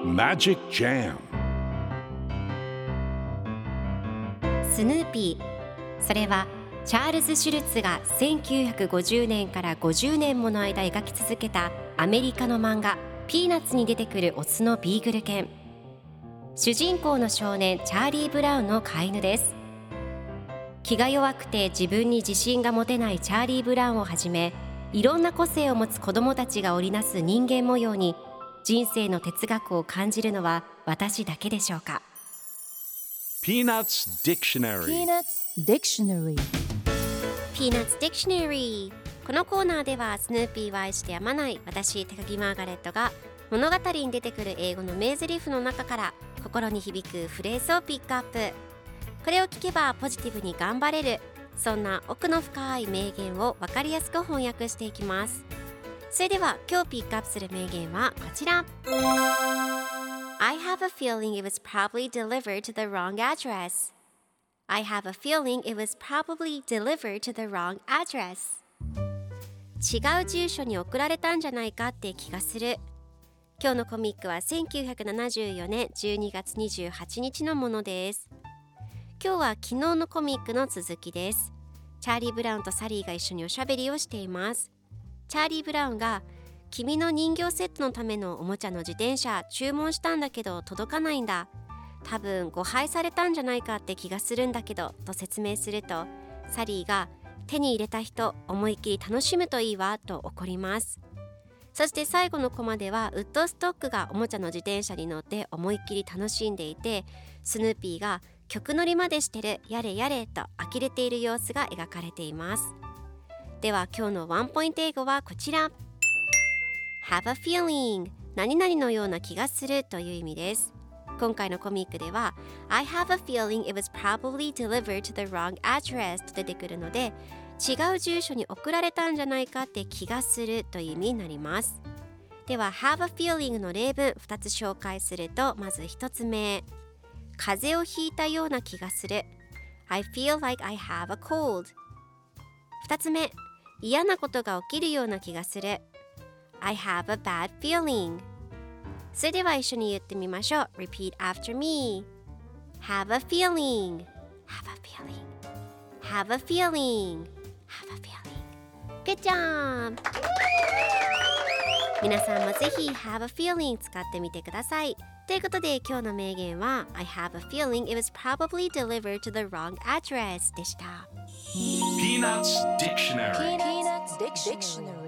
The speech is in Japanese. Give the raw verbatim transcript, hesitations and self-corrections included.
Magic Jam スヌーピー、それはチャールズ・シュルツがせんきゅうひゃくごじゅうねんからごじゅうねんもの間描き続けたアメリカの漫画ピーナッツに出てくるオスのビーグル犬。主人公の少年チャーリー・ブラウンの飼い犬です。気が弱くて自分に自信が持てないチャーリー・ブラウンをはじめ、いろんな個性を持つ子どもたちが織りなす人間模様に人生の哲学を感じるのは私だけでしょうか。 Peanuts Dictionary Peanuts Dictionary Peanuts Dictionary。 このコーナーではスヌーピーを愛してやまない私高木マーガレットが物語に出てくる英語の名台詞の中から心に響くフレーズをピックアップ。これを聞けばポジティブに頑張れる、そんな奥の深い名言を分かりやすく翻訳していきます。それでは今日ピックアップする名言はこちら。 I have a feeling it was probably delivered to the wrong address. I have a feeling it was probably delivered to the wrong address. 違う住所に送られたんじゃないかって気がする。今日のコミックはせんきゅうひゃくななじゅうよねんじゅうにがつにじゅうはちにちのものです。今日は昨日のコミックの続きです。チャーリー・ブラウンとサリーが一緒におしゃべりをしています。チャーリー・ブラウンが君の人形セットのためのおもちゃの自転車注文したんだけど届かないんだ。多分誤配されたんじゃないかって気がするんだけどと説明すると、サリーが手に入れた人思いっきり楽しむといいわと怒ります。そして最後のコマではウッドストックがおもちゃの自転車に乗って思いっきり楽しんでいて、スヌーピーが曲乗りまでしてるやれやれと呆れている様子が描かれています。では今日のワンポイント英語はこちら。 Have a feeling、 何々のような気がするという意味です。今回のコミックでは I have a feeling it was probably delivered to the wrong address と出てくるので、違う住所に送られたんじゃないかって気がするという意味になります。では have a feeling の例文ふたつ紹介すると、まずひとつめ、風邪をひいたような気がする。 I feel like I have a cold。 ふたつめ、嫌なことが起きるような気がする。 I have a bad feeling。 それでは一緒に言ってみましょう。 Repeat after me。 Have a feeling。 Have a feeling。 Have a feeling。 Have a feeling。 Good job。 皆さんもぜひ Have a feeling 使ってみてください。ということで今日の名言は I have a feeling it was probably delivered to the wrong address でした。 Peanuts Dictionary Peanuts Dictionary